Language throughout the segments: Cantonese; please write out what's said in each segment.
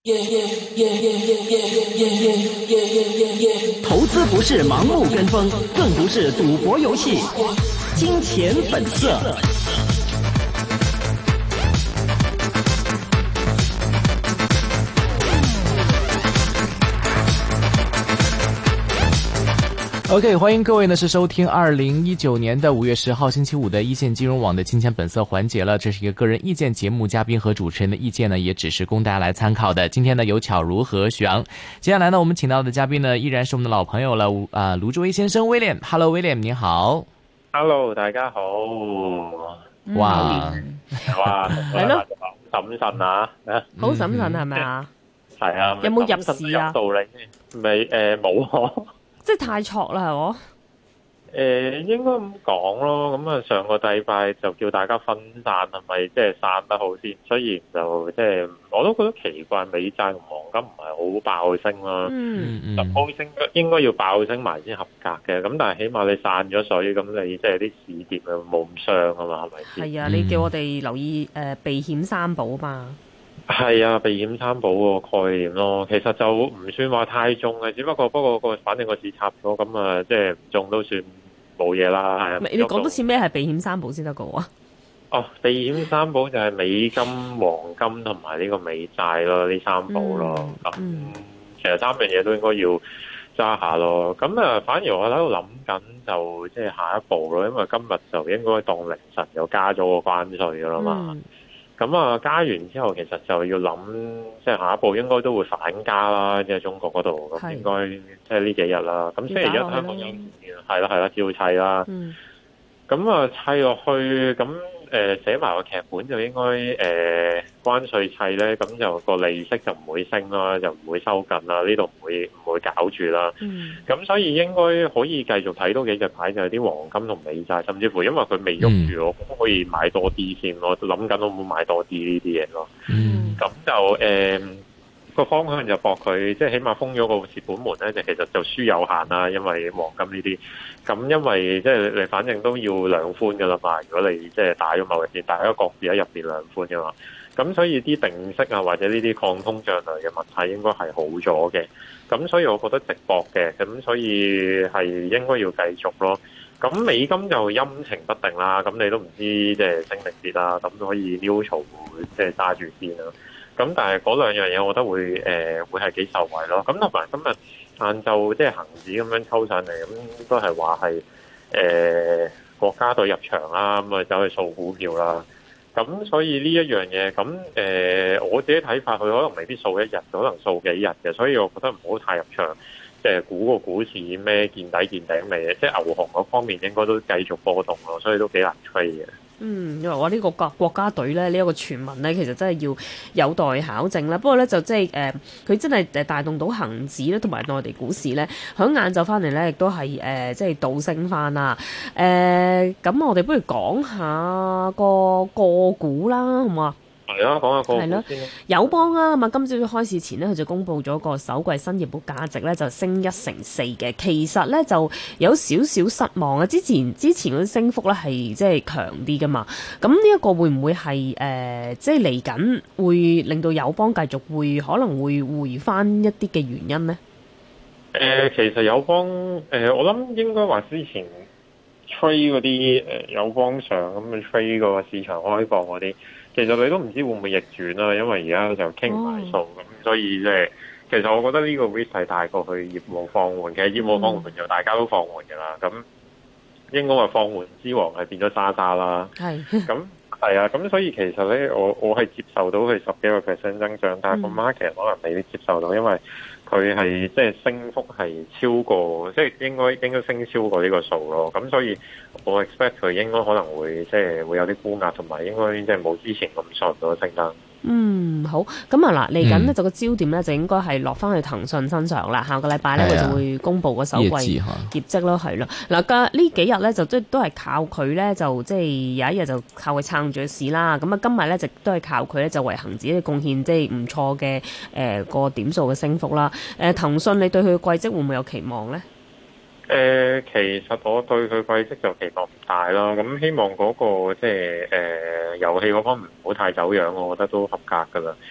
投資不是盲目跟風，更不是賭博遊戲。金錢本色。OK， 歡迎各位呢是收聽2019年的5月10號星期五的一線金融網的金錢本色環節了。這是一個個人意見節目，嘉賓和主持人的意見呢也只是供大家來參考的。今天呢有巧如和徐昂，接下來呢我們請到的嘉賓呢依然是我們的老朋友了，盧志威先生 William。Hello William， 你好。 Hello， 大家好。 哇， 係咯，審慎啊， 好審慎係咪啊？ 係啊， 有冇入市啊？ 道理未？冇。 即係太錯啦，係我。 應該咁講咯。咁啊，上個禮拜就叫大家分散，係咪即係散得好先？雖然就即係我都覺得奇怪，美債同黃金唔係好爆升啦。就升應該要爆升埋先合格嘅。咁但係起碼你散咗水，咁你即係啲市跌啊冇咁傷啊嘛，係咪先？ 係啊，你叫我哋留意避險三寶嘛。 係啊，避險三寶個概念咯，其實就唔算話太重嘅，只不過反正個市插咗，咁啊即係唔中都算冇嘢啦。係啊， 你講多次咩係避險三寶先得個喎？ 哦，避險三寶就係美金、黃金同埋呢個美債咯，呢三寶咯。其實三樣嘢都應該要揸下咯。咁啊，反而我喺度諗緊就即係下一步咯，因為今日就應該當凌晨又加咗個關稅噶啦嘛。咁啊，加完之後，其實就要諗，即係下一步應該都會反加啦，即係中國嗰度，咁應該即係呢幾日啦。咁星期一香港有係啦，照砌啦。咁啊，砌落去，咁寫埋個劇本就應該關稅砌咧，咁就個利息就唔會升啦，就唔會收緊啦，呢度唔會搞住啦。咁所以應該可以繼續睇多幾隻牌，就係啲黃金同美債，甚至乎因為佢未喐住，我都可以買多啲先咯。諗緊我會買多啲呢啲嘢咯。咁就個方向就搏佢，即係起碼封咗個蝕本門咧，就其實就輸有限啦。因為黃金呢啲，咁因為即係你反正都要量寬噶啦嘛。如果你即係打咗貿易戰，大家各自喺入邊量寬噶嘛，咁所以啲定息啊或者呢啲抗通脹類嘅物體應該係好咗嘅。咁所以我覺得值博嘅，咁所以係應該要繼續咯。咁美金就陰晴不定啦，咁你都唔知即係升定跌啦，咁可以 neutral 即係揸住先啦。咁但係嗰兩樣嘢，我覺得會係幾受惠咯。咁同埋今日晏晝即係恆指咁樣抽上嚟，咁都係話係國家隊入場啦，咁啊走去掃股票啦。咁所以呢一樣嘢，咁我自己睇法，佢可能未必掃一日，可能掃幾日嘅。所以我覺得唔好太入場，即係估個股市咩見底見頂未，即係牛熊嗰方面應該都繼續波動咯，所以都幾難吹嘅。 因為我呢個國家隊咧，呢一個傳聞咧，其實真係要有待考證啦。不過咧，就即係佢真係帶動到恒指咧，同埋內地股市咧，響晏晝翻嚟咧，亦都係即係倒升翻啦。咁我哋不如講下個股啦，好唔好啊？ 係啊，講下個股先啦。 友邦啊，咁啊，今朝開市前呢，佢就公布咗個首季新業務價值咧，就升1成4嘅。其實咧就有少少失望啊。之前嗰啲升幅咧係即係強啲噶嘛。咁呢一個會唔會係即係嚟緊會令到友邦繼續可能會回翻一啲嘅原因呢？ 其實友邦我諗應該話之前吹嗰啲友邦上咁去吹個市場開放嗰啲。其實你都唔知會唔會逆轉啦，因為而家就傾埋數咁，所以即係其實我覺得呢個 risk 係大過去業務放緩嘅，業務放緩就大家都放緩嘅啦。咁應該話放緩之王係變咗渣渣啦。咁係啊，咁所以其實咧，我係接受到佢10幾個% 增長，但係個 market 可能未必接受到，因為佢係即係升幅係超過，即係應該升超過呢個數咯。咁所以我 expect 佢應該可能會即係會有啲沽壓，同埋應該即係冇之前咁順咯升得。好，咁啊嗱，嚟緊呢就個焦點咧就應該係落翻去騰訊身上啦。下個禮拜咧佢就會公布個首季業績咯，係咯。嗱，呢幾日咧就都係靠佢咧，就即係有一日就靠佢撐住市啦。咁啊，今日咧就都係靠佢咧就為恒指嘅貢獻，即係唔錯嘅個點數嘅升幅啦。騰訊你對佢嘅季績會唔會有期望咧？ 其實我對佢季績就期望唔大啦，咁希望嗰個即係遊戲嗰方面唔好太走樣，我覺得都合格噶啦。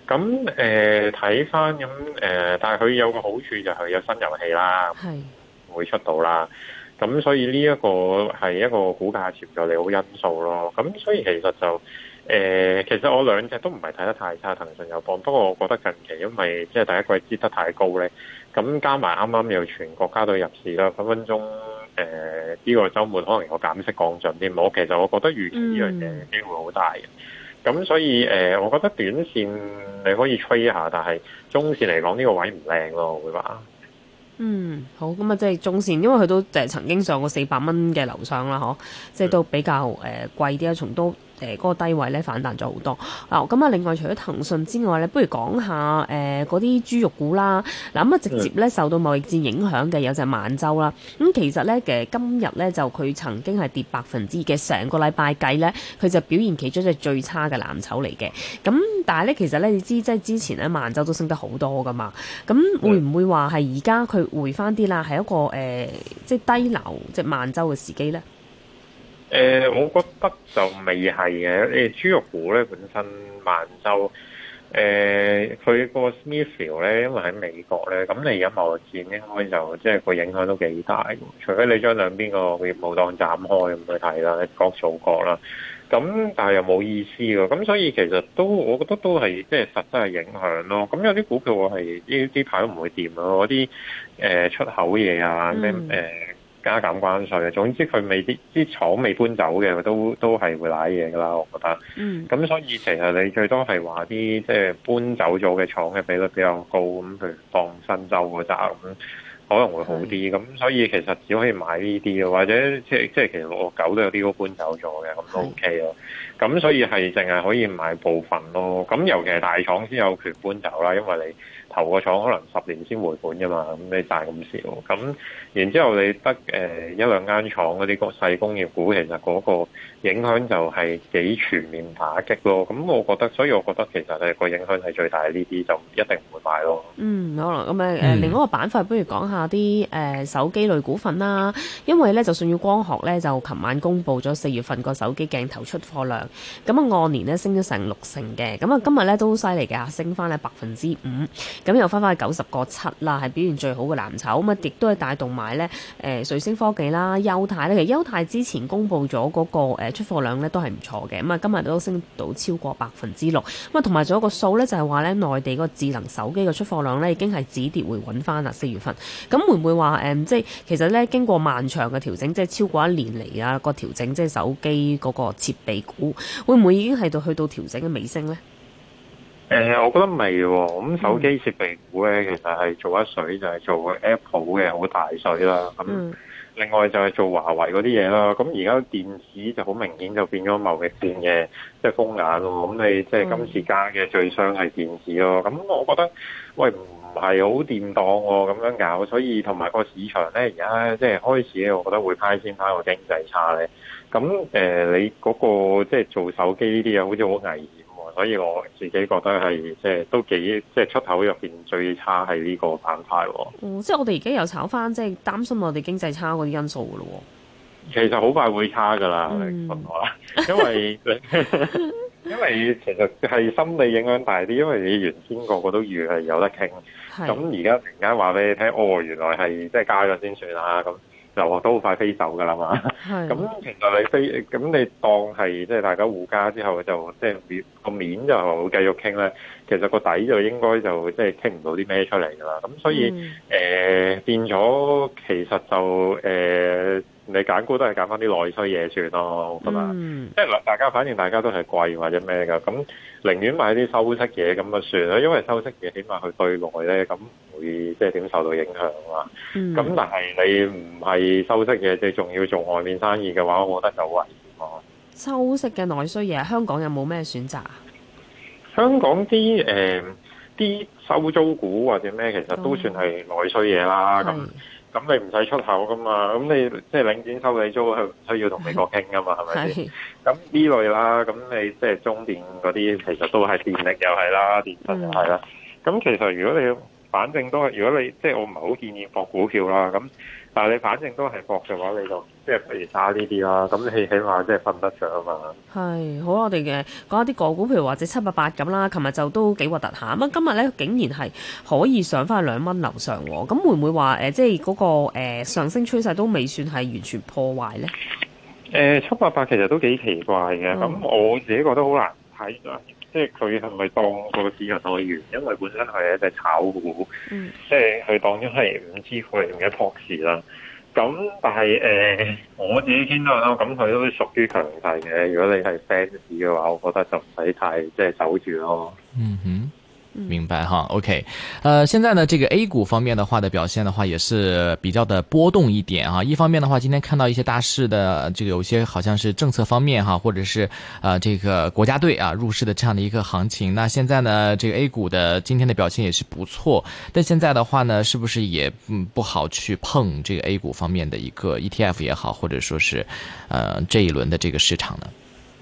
咁睇翻咁但係佢有個好處就係有新遊戲啦， 係會出到啦。咁所以呢一個係一個股價潛在利好因素咯。咁所以其實就其實我兩隻都唔係睇得太差，騰訊友邦。不過我覺得近期因為即係第一季跌得太高咧，咁加埋啱啱又全國家隊入市啦，分分鐘呢個週末可能有減息降準添。其實我覺得預期呢樣嘢機會好大嘅。咁所以我覺得短線你可以吹一下，但係中線嚟講呢個位唔靚咯，我會話。 好，咁啊，即係中線，因為佢都曾經上過400蚊嘅樓上啦，嗬，即係都比較貴啲啊，從都嗰個低位咧反彈咗好多。嗱，咁啊，另外除咗騰訊之外咧，不如講下嗰啲豬肉股啦。嗱，咁啊，直接咧受到貿易戰影響嘅有隻萬洲啦。咁其實咧今日咧就佢曾經係跌2%嘅，成個禮拜計咧，佢就表現其中一隻最差嘅藍籌嚟嘅。咁但係咧，其實咧你知即係之前咧萬洲都升得好多噶嘛。咁會唔會話係而家佢回翻啲啦？係一個即係低流即係萬洲嘅時機咧？ 我覺得就未係嘅。豬肉股咧本身萬洲，佢個 Smithfield 咧，因為喺美國咧，咁你而家貿易戰應該就即係個影響都幾大。除非你將兩邊個業務當斬開咁去睇啦，各做各啦。咁但係又冇意思喎。咁所以其實我覺得都係即係實質係影響咯。咁有啲股票我係呢排都唔會掂咯。嗰啲出口嘢啊，咩加減關稅啊，總之佢啲廠未搬走嘅，都係會瀨嘢噶啦，我覺得。咁所以其實你最多係話啲即係搬走咗嘅廠嘅比率比較高，咁譬如放新州嗰扎咁，可能會好啲。咁所以其實只可以買呢啲咯，或者即係其實69都有啲都搬走咗嘅，咁都 OK 咯。咁所以係淨係可以買部分咯。咁尤其係大廠先有權搬走啦，因為你投個廠可能10年先回本㗎嘛，咁你賺咁少。咁然之後你得一兩間廠嗰啲細工業股，其實嗰個影響就係幾全面打擊咯。咁所以我覺得其實係個影響係最大，呢啲就一定唔會買咯。 好啦，咁另外一個板塊，不如講下啲手機類股份啦。因為咧，就舜宇光學咧就琴晚公布咗4月份個手機鏡頭出貨量，咁啊按年咧升咗成60%嘅。咁啊今日咧都好犀利嘅，升翻咧5%，咁又翻去90個7啦，係表現最好嘅藍籌。咁啊亦都係帶動埋咧瑞聲科技啦、優泰咧。其實優泰之前公布咗嗰個出貨量咧都係唔錯嘅，咁啊今日都升到超過6%。咁啊同埋仲有一個數咧，就係話咧內地嗰個智能手機嘅出貨量咧已經係止跌回穩翻啦，4月份。咁會唔會話即係其實咧經過漫長嘅調整，即係超過1年嚟啊個調整，即係手機嗰個設備股，會唔會已經係去到調整嘅尾聲咧？ 我覺得未喎。咁手機設備股咧，其實係做一水就係做 Apple 嘅好大水啦。咁另外就係做華為嗰啲嘢啦。咁而家電子就好明顯就變咗貿易戰嘅即係風眼咯。咁你即係今次加嘅最傷係電子咯。咁我覺得喂唔係好掂當喎，咁樣搞。所以同埋個市場咧而家即係開始咧，我覺得會派先翻個經濟差咧。咁你嗰個即係做手機呢啲嘢好似好危險。所以我自己覺得係即係都幾即係出口入邊最差係呢個板塊喎。 即係我哋而家又炒翻，即係擔心我哋經濟差嗰啲因素噶咯。 其實好快會差噶啦，你信我啦，因為其實係心理影響大啲，因為你原先個個都預係有得傾，咁而家突然間話俾你聽，原來係即係加咗先算啦咁。就都好快飛走㗎啦嘛，咁其實咁你當係即係大家互加之後就即係個面就繼續傾咧，其實個底就應該就即係傾唔到啲咩出嚟㗎啦，咁所以變咗其實就你揀股都係揀翻啲內需嘢算咯，我覺得，即係大家反正大家都係貴或者咩㗎，咁寧願買啲收息嘢咁啊算啦，因為收息嘢起碼佢對內咧咁會即係點受到影響啊，咁但係你唔係收息嘢，你仲要做外面生意嘅話，我覺得就好危險咯。 收息嘅內需嘢，香港有冇咩選擇啊？ 香港啲收租股或者咩，其實都算係內需嘢啦，咁你唔使出口噶嘛，咁你即係領展收你租，係唔需要同美國傾噶嘛，係咪先？咁呢類啦，咁你即係中電嗰啲，其實都係電力又係啦，電信又係啦。咁其實如果你反正都係，如果你即係我唔係好建議博股票啦，咁但係你反正都係博嘅話，你就即係不如揸呢啲啦。咁你起碼即係瞓得着啊嘛。 係好，我哋嘅講一啲個股，譬如或者788咁啦，琴日就都幾核突下。咁今日咧竟然係可以上翻去2蚊樓上喎。咁會唔會話即係嗰個上升趨勢都未算係完全破壞咧？ 788其實都幾奇怪嘅。咁我自己覺得好難睇啦。即係佢係咪當個市場來源？因為本身係一隻炒股，即係佢當咗係5G概念嘅 proxy 啦。咁但係我自己見到啦，咁佢都屬於強勢嘅。如果你係 fans 嘅話，我覺得就唔使太即係守住咯。 嗯哼。明白哈 ，OK，現在呢，這個 A 股方面的話的表現的話，也是比較的波動一點哈。一方面的話，今天看到一些大市的這個有些好像是政策方面哈，或者是這個國家隊啊入市的這樣的一個行情。那現在呢，這個 A 股的今天的表現也是不錯，但現在的話呢，是不是也不好去碰這個 A 股方面的一個 ETF 也好，或者說是這一輪的這個市場呢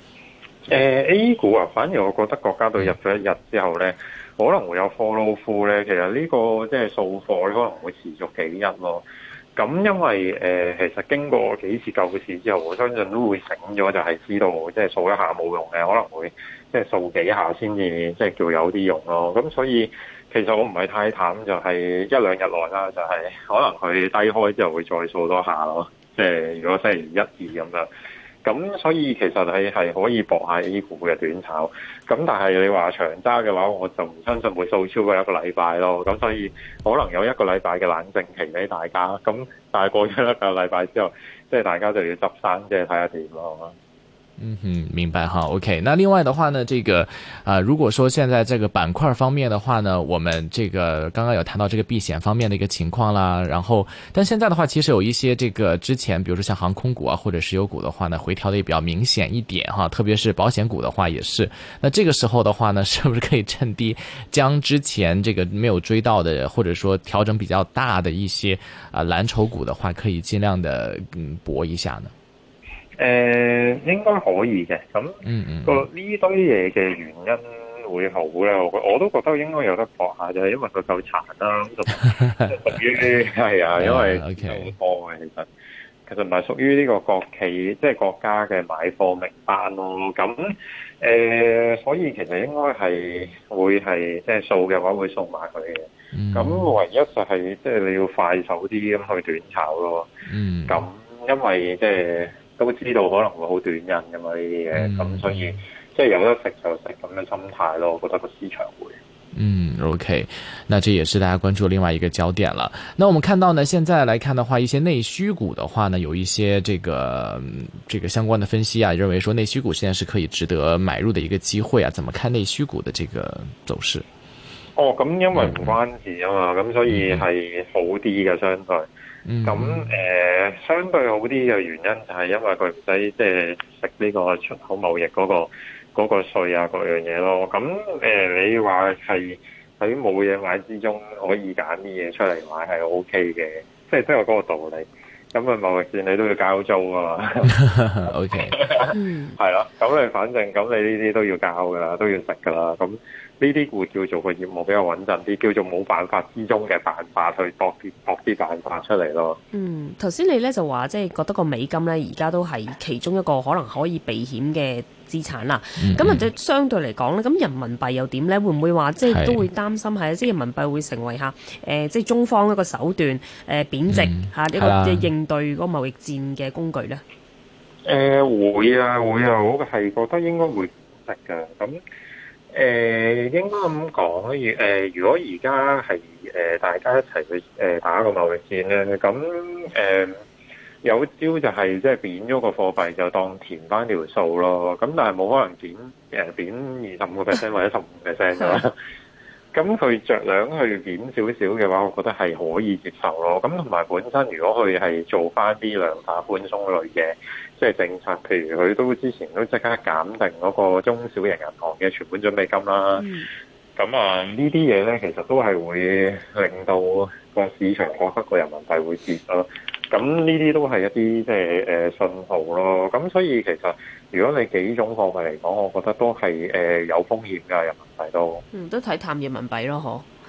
？A 股啊，反而我覺得國家隊入咗一日之後呢。可能會有 follow through 咧，其實呢個即係掃貨咧，可能會持續幾日咯。咁因為其實經過幾次救市之後，我相信都會醒咗，就係知道即係掃一下冇用嘅，可能會即係掃幾下先至即係叫有啲用咯。咁所以其實我唔係太淡，就係1-2日內啦，就係可能佢低開之後會再掃多下咯。即係如果星期1、2咁樣。咁所以其實係可以搏下 A 股嘅短炒，咁但係你話長揸嘅話，我就唔相信會掃超過1個禮拜咯。咁所以可能有1個禮拜嘅冷靜期俾大家。咁但係過咗1個禮拜之後，即係大家就要執生，即係睇下點咯。 嗯哼，明白哈 ，OK。那另外的話呢，這個如果說現在這個板塊方面的話呢，我們這個剛剛有談到這個避險方面的一個情況啦，然後但現在的話，其實有一些這個之前，比如說像航空股啊或者石油股的話呢，回調的也比較明顯一點哈，特別是保險股的話也是。那這個時候的話呢，是不是可以趁低將之前這個沒有追到的，或者說調整比較大的一些藍籌股的話，可以盡量的搏一下呢？ 應該可以嘅，咁個呢堆嘢嘅原因會好咧，我都覺得應該有得搏下，就係因為佢夠殘啦，咁就屬於係啊，因為好多嘅其實唔係屬於呢個國企即係國家嘅買貨名單咯，咁所以其實應該係會係即係掃嘅話會掃埋佢嘅，咁唯一就係即係你要快手啲咁去短炒咯，咁因為即係。都知道可能會好短癮㗎嘛呢啲嘢，咁所以即係有得食就食咁嘅心態咯，我覺得個市場會。 OK， 那這也是大家關注另外一個焦點了。那我們看到呢，現在來看的話，一些內需股的話呢，有一些這個相關的分析啊，認為說內需股現在是可以值得買入的一個機會啊。怎麼看內需股的這個走勢？ 咁因為唔關事啊嘛，咁所以係好啲嘅相對。咁相對好啲嘅原因就係因為佢唔使即係食呢個出口貿易嗰個稅啊各樣嘢咯。咁你話係喺冇嘢買之中可以揀啲嘢出嚟買係 OK 嘅，即係都有嗰個道理。咁貿易戰你都要交租啊嘛。OK， 係咯。咁你反正咁你呢啲都要交噶啦，都要食噶啦。咁呢啲會叫做個業務比較穩陣啲，叫做冇辦法之中嘅辦法去搏啲辦法出嚟咯。 頭先你咧就話即係覺得個美金咧而家都係其中一個可能可以避險嘅資產啦。咁或者相對嚟講咧，咁人民幣又點咧？會唔會話即係都會擔心係即係人民幣會成為即係中方一個手段貶值呢個即係應對嗰個貿易戰嘅工具咧？ 會啊，我係覺得應該會值㗎。咁應該咁講，如果而家係大家一齊去打個貿易戰咧，咁有招就係即係貶咗個貨幣就當填翻條數咯。咁但係冇可能貶25% 或者15% 㗎啦。咁佢着量去貶少少嘅話，我覺得係可以接受咯。咁同埋本身如果佢係做翻啲量化寬鬆類嘅即係政策，譬如佢都之前都即刻減定嗰個中小型銀行嘅存款準備金啦。咁呢啲嘢咧，其實都係會令到個市場覺得個人民幣會跌咯。咁呢啲都係一啲即係信號咯。咁所以其實如果你幾種貨幣嚟講，我覺得都係有風險㗎，人民幣都。 都睇淡人民幣咯，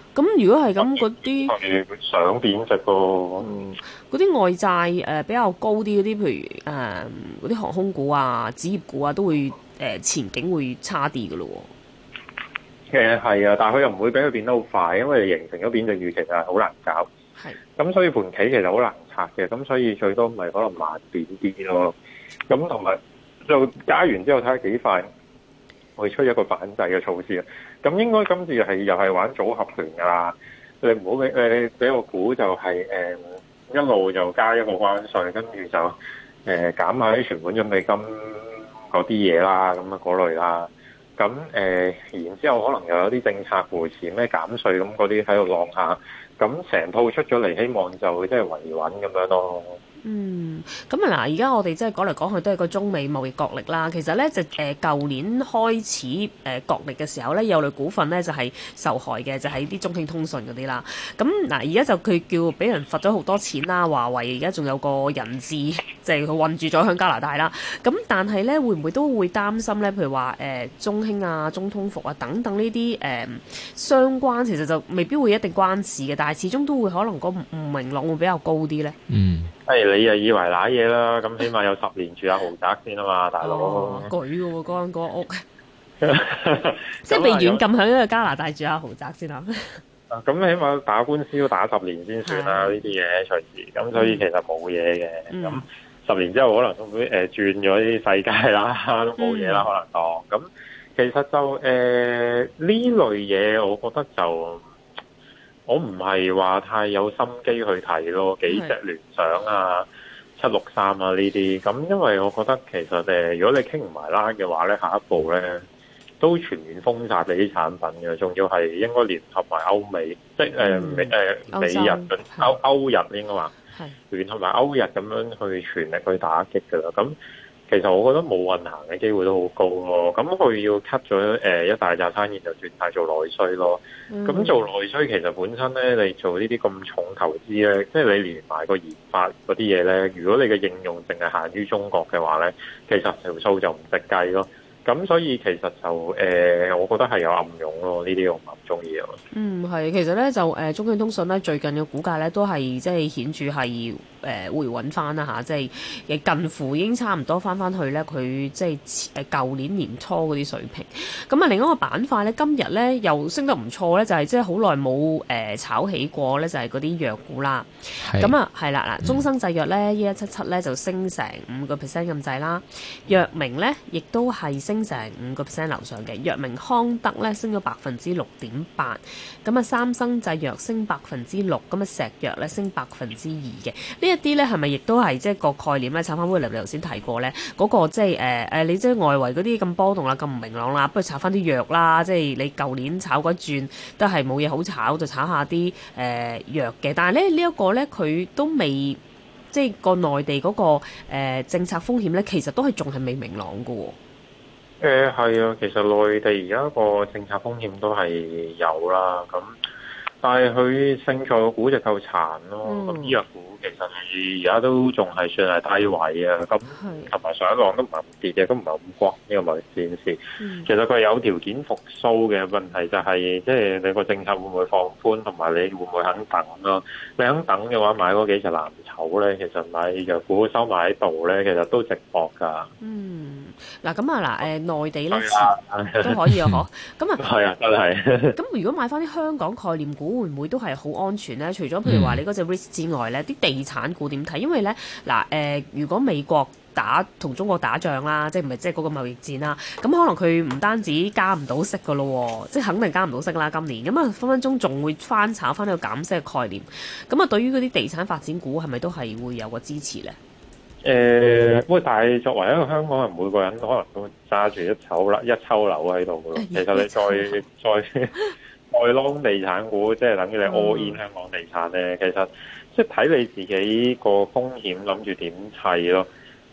咁如果係咁，嗰啲係想貶值咯。 嗰啲外債比較高啲嗰啲，譬如嗰啲航空股啊、紙業股啊，都會前景會差啲嘅咯。 其實係啊，但係佢又唔會俾佢變得好快，因為形成咗貶值預期其實係好難搞。 係。 咁所以盤棋其實好難拆嘅，咁所以最多咪可能慢貶啲咯。咁同埋就加完之後睇下幾快會出一個反制嘅措施啊。咁應該今次又係玩組合拳㗎啦。你唔好俾我估就係一路就加一個關稅，跟住就減下啲存款準備金嗰啲嘢啦，咁啊嗰類啦。咁然之後可能又有啲政策扶持咩減稅咁嗰啲喺度浪下，咁成套出咗嚟，希望就即係維穩咁樣咯。 咁啊嗱，而家我哋即係講嚟講去都係個中美貿易角力啦。其實咧就舊年開始角力嘅時候咧，有類股份咧就係受害嘅，就係啲中興通訊嗰啲啦。咁嗱，而家就佢叫俾人罰咗好多錢啦。華為而家仲有個人質，即係佢韞住咗響加拿大啦。咁但係咧，會唔會都會擔心咧？譬如話中興啊、中通服啊等等呢啲相關，其實就未必會一定關事嘅，但係始終都會可能個唔明朗會比較高啲咧。 你又以為揦嘢啦？咁起碼有10年住下豪宅先啊嘛，大佬。 舉嘅喎，嗰間屋，即係被軟禁喺一個加拿大住下豪宅先啊。 咁起碼打官司都打10年先算啦，呢啲嘢隨時。咁所以其實冇嘢嘅。咁10年之後可能都會轉咗啲世界啦，都冇嘢啦，可能當。咁其實就呢類嘢，我覺得就。我唔係話太有心機去睇咯，幾隻聯想啊、763啊呢啲，咁因為我覺得其實如果你傾唔埋啦嘅話咧，下一步咧都全面封殺你啲產品嘅，仲要係應該聯合埋歐美，即係美日歐日應該話聯合埋歐日咁樣去全力去打擊㗎啦，咁。其實我覺得冇運行嘅機會都好高咯，咁佢要 cut 咗一大紮生意就轉晒做內需咯。咁做內需其實本身咧，你做呢啲咁重投資咧，即係你連埋個研發嗰啲嘢咧，如果你嘅應用淨係限於中國嘅話咧，其實條數就唔值計咯。咁所以其實就我覺得係有暗湧咯，呢啲我唔係咁中意咯。 係，其實咧就中興通訊咧最近嘅股價咧都係即係顯著係回穩翻啦嚇，即係近乎已經差唔多翻去咧佢即係舊年年初嗰啲水平。咁啊另一個板塊咧今日咧又升得唔錯咧，就係即係好耐冇炒起過咧，就係嗰啲藥股啦。咁啊係啦嗱，中生製藥咧1177咧就升成5%咁滯啦，藥明咧亦都係升成5%樓上嘅，藥明康德咧升咗6.8%，咁啊三生製藥升6%，咁啊石藥咧升2%嘅。呢一啲咧係咪亦都係即係個概念咧？炒翻威廉你頭先提過咧，嗰個即係你即係外圍嗰啲咁波動啦、咁唔明朗啦，不如炒翻啲藥啦。即係你舊年炒嗰轉都係冇嘢好炒，就炒下啲藥嘅。但係咧呢一個咧佢都未即係個內地嗰個政策風險咧，其實都係仲係未明朗㗎喎。 係啊，其實內地而家個政策風險都係有啦，咁但係佢勝在個估值夠殘咯，咁醫藥股其實係而家都仲係算係低位啊，咁同埋上一浪都唔係咁跌嘅，都唔係咁關呢個貿易戰事。其實佢有條件復甦嘅問題就係，即係你個政策會唔會放寬，同埋你會唔會肯等咯？你肯等嘅話，買嗰幾隻藍籌咧，其實買藥股收埋喺度咧，其實都值博㗎。 嗱咁啊嗱，內地咧都可以啊，嗬。咁啊， 係啊，真係。 咁如果買翻啲香港概念股，會唔會都係好安全咧？除咗譬如話你嗰隻 risk 之外咧，啲地產股點睇？因為咧嗱，如果美國同中國打仗啦，即係唔係即係嗰個貿易戰啦，咁可能佢唔單止加唔到息噶咯，即係肯定加唔到息啦。今年咁啊，分分鐘仲會翻炒翻呢個減息嘅概念。咁啊，對於嗰啲地產發展股係咪都係會有個支持咧？ 喂，但係作為一個香港人，每個人可能都揸住一抽樓喺度噶咯。其實你再 long 地產股，即係等於你 all in 香港地產咧，其實即係睇你自己個風險諗住點砌咯。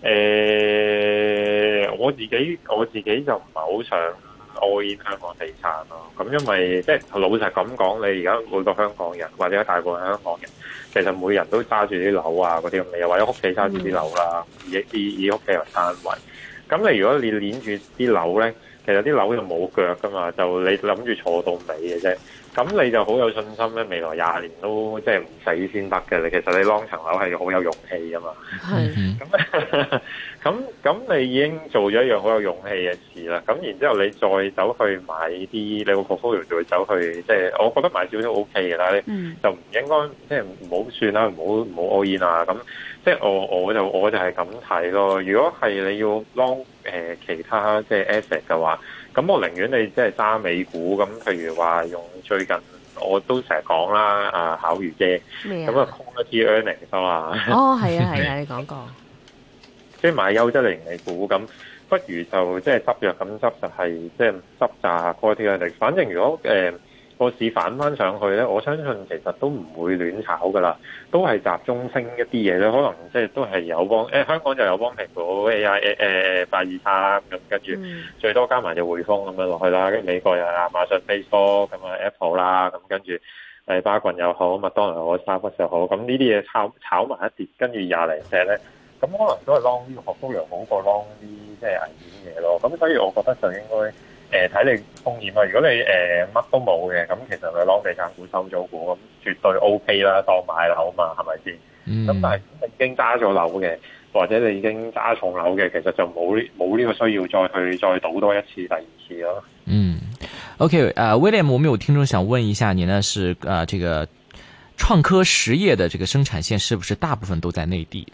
我自己就唔係好想 all in 香港地產咯。咁因為即係老實咁講，你而家每個香港人或者大部分香港人，其實每人都揸住啲樓啊嗰啲咁嘅，又或者屋企揸住啲樓啦，以屋企為單位。咁你如果你攆住啲樓咧， 其實啲樓就冇腳噶嘛，就你諗住坐到尾嘅啫。咁你就好有信心咧，未來20年都即係唔死先得嘅。你其實你 long 層樓係好有勇氣噶嘛。係。咁你已經做咗一樣好有勇氣嘅事啦。咁然之後你再走去買啲你個 portfolio 就會走去，即係我覺得買少少 OK 嘅啦。就唔應該即係唔好算啦，唔好 all in 啊。咁即係我就係咁睇咯。如果係你要 long 其他即係 asset 嘅話，咁我寧願你即係揸美股。咁譬如話用最近我都成日講啦，巧如姐咁啊 quality earnings 啊。 哦，係啊，你講過。 即係買優質零利股，咁不如就即係執藥咁執，就係即係執炸 quality earnings。反正如果個市反翻上去咧，我相信其實都唔會亂炒噶啦，都係集中升一啲嘢咧。可能即係都係友邦香港就友邦蘋果 AI 823咁，跟住最多加埋隻匯豐咁樣落去啦。跟住美國又係亞馬遜 Facebook 咁啊 Apple 啦，咁跟住巴郡又好，麥當勞又好，Starbucks又好，咁呢啲嘢炒埋一跌，跟住20零隻咧。咁可能都係 long 呢個學高粱好過 long 啲即係危險嘢咯。咁所以我覺得就應該睇你風險啦。如果你乜都冇嘅，咁其實你 long 地產股、收租股咁絕對 OK 啦，當買樓嘛，係咪先？咁但係你已經揸咗樓嘅，或者你已經揸重樓嘅，其實就冇呢個需要再賭多一次、第二次咯。 OK，William，我們有聽眾想問一下你呢，是這個創科實業的這個生產線是不是大部分都在內地？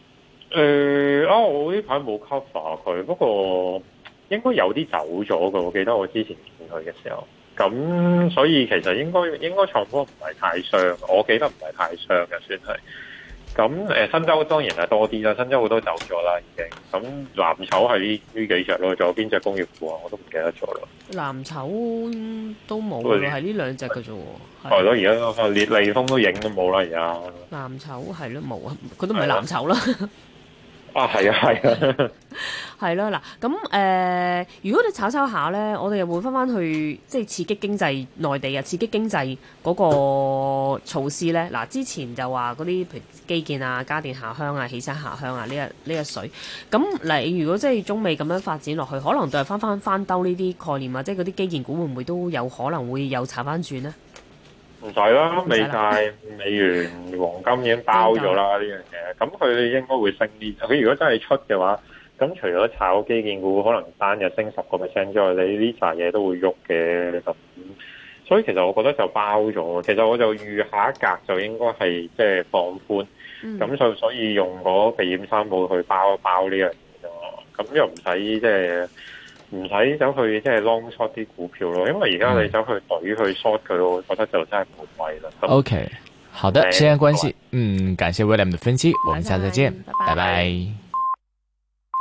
我呢排冇 cover 佢，不過應該有啲走咗㗎。我記得我之前見佢嘅時候，咁所以其實應該創科唔係太傷，我記得唔係太傷嘅，算係。咁新洲當然係多啲啦，新洲好多走咗啦已經。咁藍籌係呢幾隻咯，仲有邊隻工業股啊？我都唔記得咗啦。 藍籌都冇咯，係呢兩隻嘅啫喎。 係咯，而家利豐都影都冇啦，而家。 藍籌係咯，冇啊，佢都唔係藍籌啦。 係啊， 係啦，嗱，咁如果你炒下咧，我哋又會翻去即係刺激經濟內地啊，刺激經濟嗰個措施咧。嗱，之前就話嗰啲譬如基建啊、家電下鄉啊、汽車下鄉啊呢一水。咁你如果即係中美咁樣發展落去，可能都係翻兜呢啲概念啊，即係嗰啲基建股會唔會都有可能會有炒翻轉呢？ 唔使啦，美債、美元、黃金已經包咗啦呢樣嘢，咁佢應該會升啲。佢如果真係出嘅話，咁除咗炒基建股可能單日升10% 之外，你呢扎嘢都會喐嘅。咁所以其實我覺得就包咗。其實我就預下一格就應該係即係放寬，咁所以用嗰避險三寶去包一包呢樣嘢咯。咁又唔使即係。唔使走去即係 long short 啲股票咯，因為而家你走去懟去 short 佢，我覺得就真係冇謂啦。 OK， 好的，時間關係，感謝 William 的分析，我們下次再見，拜拜。